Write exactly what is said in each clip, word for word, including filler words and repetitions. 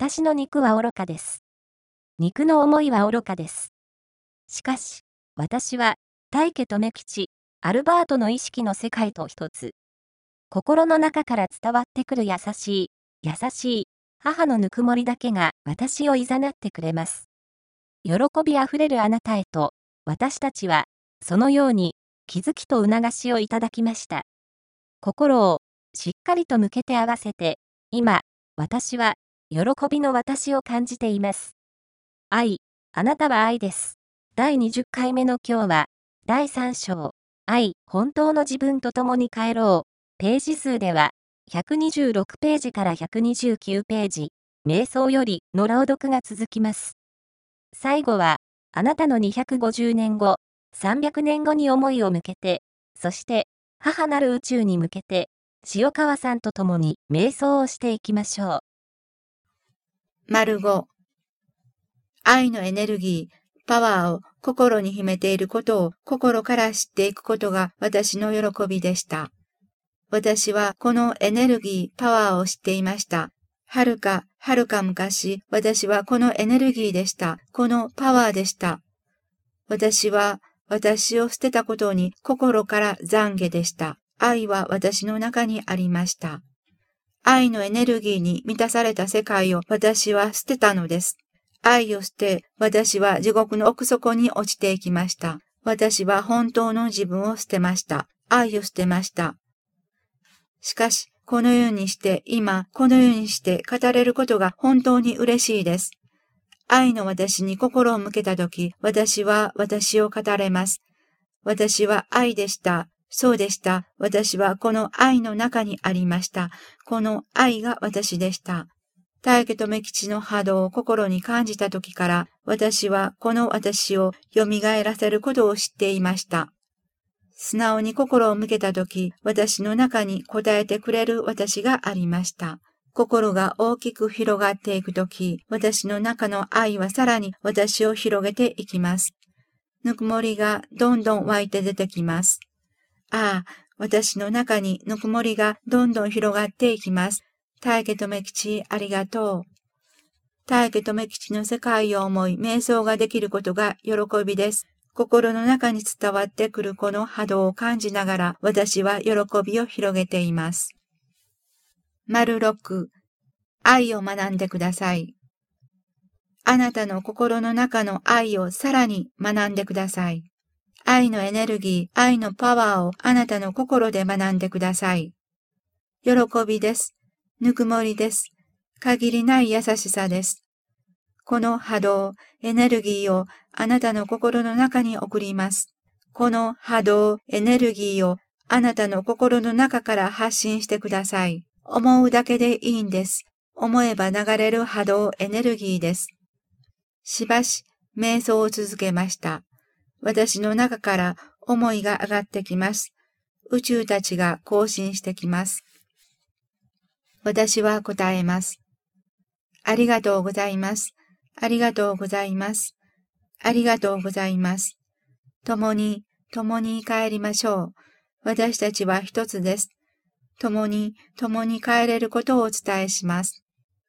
私の肉は愚かです。肉の思いは愚かです。しかし、私は、大家留吉、アルバートの意識の世界と一つ。心の中から伝わってくる優しい、優しい、母のぬくもりだけが私を誘ってくれます。喜びあふれるあなたへと、私たちは、そのように、気づきと促しをいただきました。心を、しっかりと向けて合わせて、今、私は、喜びの私を感じています。愛、あなたは愛です。だいにじゅっかいめの今日は、だいさん章、愛、本当の自分と共に帰ろう。ページ数では、ひゃくにじゅうろくページからひゃくにじゅうきゅうページ、瞑想よりの朗読が続きます。最後は、あなたのにひゃくごじゅうねんご、さんびゃくねんごに思いを向けて、そして、母なる宇宙に向けて、塩川さんと共に瞑想をしていきましょう。 丸ご、愛のエネルギー、パワーを心に秘めていることを心から知っていくことが私の喜びでした。私はこのエネルギー、パワーを知っていました。はるか、はるか昔、私はこのエネルギーでした。このパワーでした。私は私を捨てたことに心から懺悔でした。愛は私の中にありました。愛のエネルギーに満たされた世界を私は捨てたのです。愛を捨て、私は地獄の奥底に落ちていきました。私は本当の自分を捨てました。愛を捨てました。しかし、このようにして、今、このようにして語れることが本当に嬉しいです。愛の私に心を向けたとき、私は私を語れます。私は愛でした。そうでした。私はこの愛の中にありました。この愛が私でした。大家留吉の波動を心に感じたときから、私はこの私を蘇らせることを知っていました。素直に心を向けたとき、私の中に答えてくれる私がありました。心が大きく広がっていくとき、私の中の愛はさらに私を広げていきます。ぬくもりがどんどん湧いて出てきます。ああ、私の中にぬくもりがどんどん広がっていきます。大家留吉、ありがとう。大家留吉の世界を思い、瞑想ができることが喜びです。心の中に伝わってくるこの波動を感じながら、私は喜びを広げています。丸ろく、愛を学んでください。あなたの心の中の愛をさらに学んでください。愛のエネルギー、愛のパワーをあなたの心で学んでください。喜びです。ぬくもりです。限りない優しさです。この波動、エネルギーをあなたの心の中に送ります。この波動、エネルギーをあなたの心の中から発信してください。思うだけでいいんです。思えば流れる波動、エネルギーです。しばし、瞑想を続けました。私の中から思いが上がってきます。宇宙たちが更新してきます。私は答えます。ありがとうございます。ありがとうございます。ありがとうございます。共に、共に帰りましょう。私たちは一つです。共に、共に帰れることをお伝えします。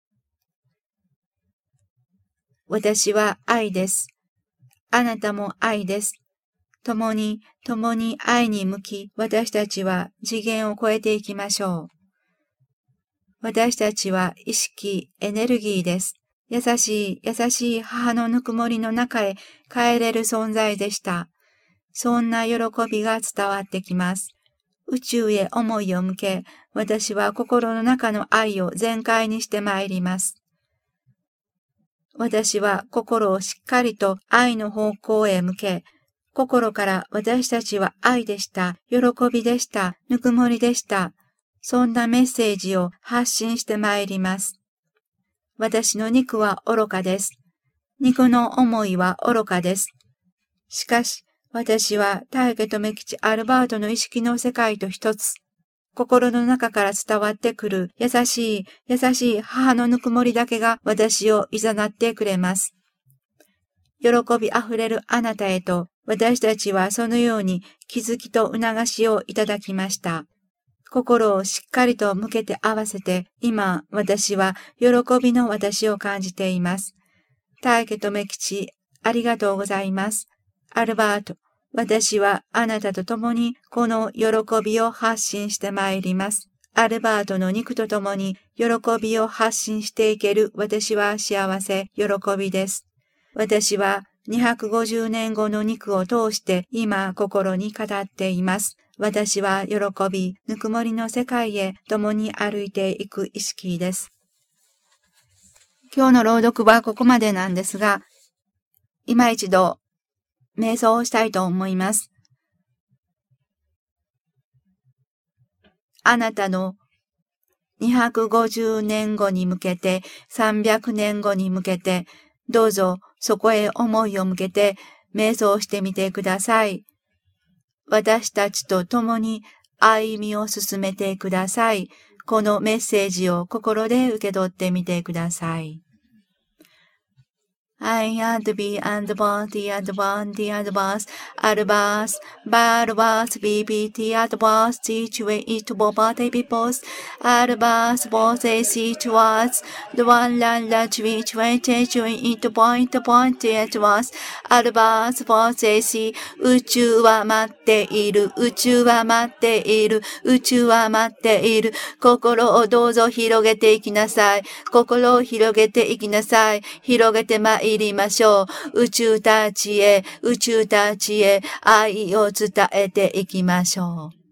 私は愛です。あなたも愛です。共に、共に愛に向き、私たちは次元を超えていきましょう。私たちは意識、エネルギーです。優しい、優しい母のぬくもりの中へ帰れる存在でした。そんな喜びが伝わってきます。宇宙へ思いを向け、私は心の中の愛を全開にしてまいります。私は心をしっかりと愛の方向へ向け、心から私たちは愛でした、喜びでした、ぬくもりでした。そんなメッセージを発信してまいります。私の肉は愚かです。肉の思いは愚かです。しかし、私は大家留吉アルバートの意識の世界と一つ。心の中から伝わってくる優しい、優しい母のぬくもりだけが私を誘ってくれます。喜びあふれるあなたへと、私たちはそのように気づきと促しをいただきました。 心をしっかりと向けて合わせて、今、私は喜びの私を感じています。大家とめきち、ありがとうございます。アルバート、私はあなたと共にこの喜びを発信してまいります。アルバートの肉と共に喜びを発信していける私は幸せ、喜びです。私はにひゃくごじゅうねんごの肉を通して今心に語っています。私は喜び、ぬくもりの世界へ共に歩いていく意識です。今日の朗読はここまでなんですが、今一度瞑想をしたいと思います。あなたのにひゃくごじゅうねんごに向けて、さんびゃくねんごに向けて、どうぞそこへ思いを向けて瞑想してみてください。私たちと共に歩みを進めてください。このメッセージを心で受け取ってみてください。I and B and one, the and one, the and was, albus, balbus, B B T and was, situate it over the peoples, albus was a situas, the one land that which went it point point it was, albus was a sea, 宇宙は待っている、宇宙は待っている、宇宙は待っている、心をどうぞ広げていきなさい、心を広げていきなさい、広げてまいりましょう。宇宙たちへ、宇宙たちへ愛を伝えていきましょう。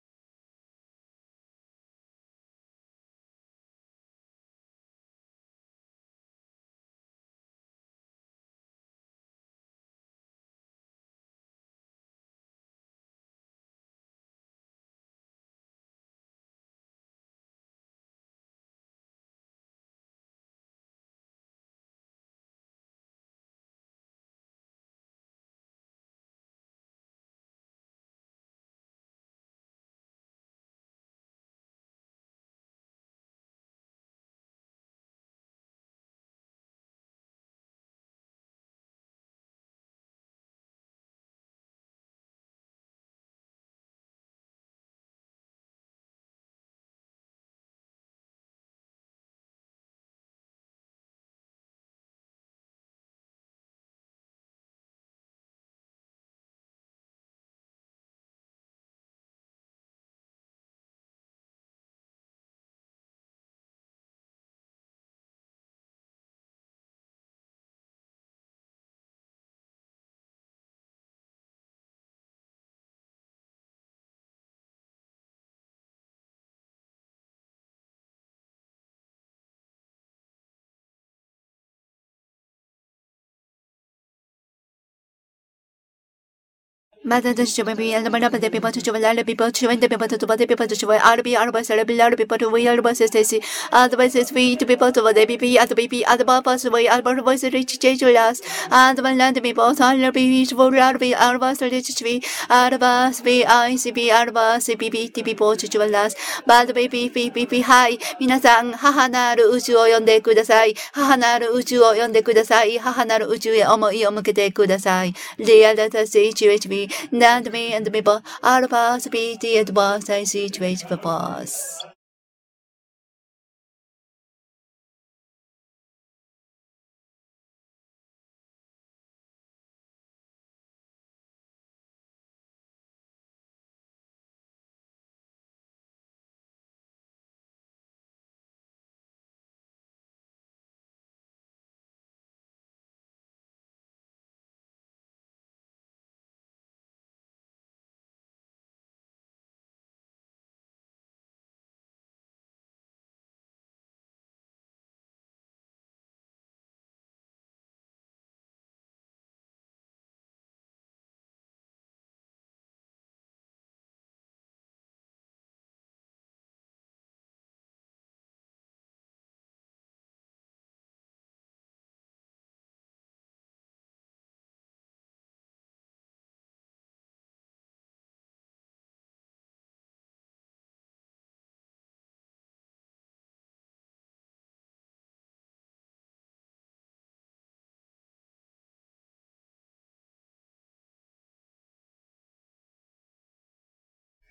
また、私はビアルバラバでピパチュワラルピパチュワンでピパチュワでピパチュワアルビアルバスラビラルピパチュワアルバスセシアドバイススイートピパチュワでピピアドピピアドバパスウェイアルバルバスリッチチェイジュラスアドバランデピパスアルビビシュウラルビアルバスリッチチビアルバスビアイシビアルバスビビティピポチュワラスバドビピピピピはい皆さん母なる宇宙を呼んでください母なる宇宙を呼んでください母なる宇宙へ思いを向けてくださいリアルタスイチュエチビAnd me and the people, all of us, be the advice I see to wait for us.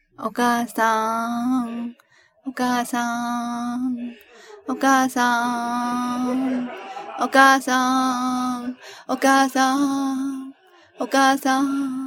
お母さん、お母さん、お母さん、お母さん、お母さん、お母さん、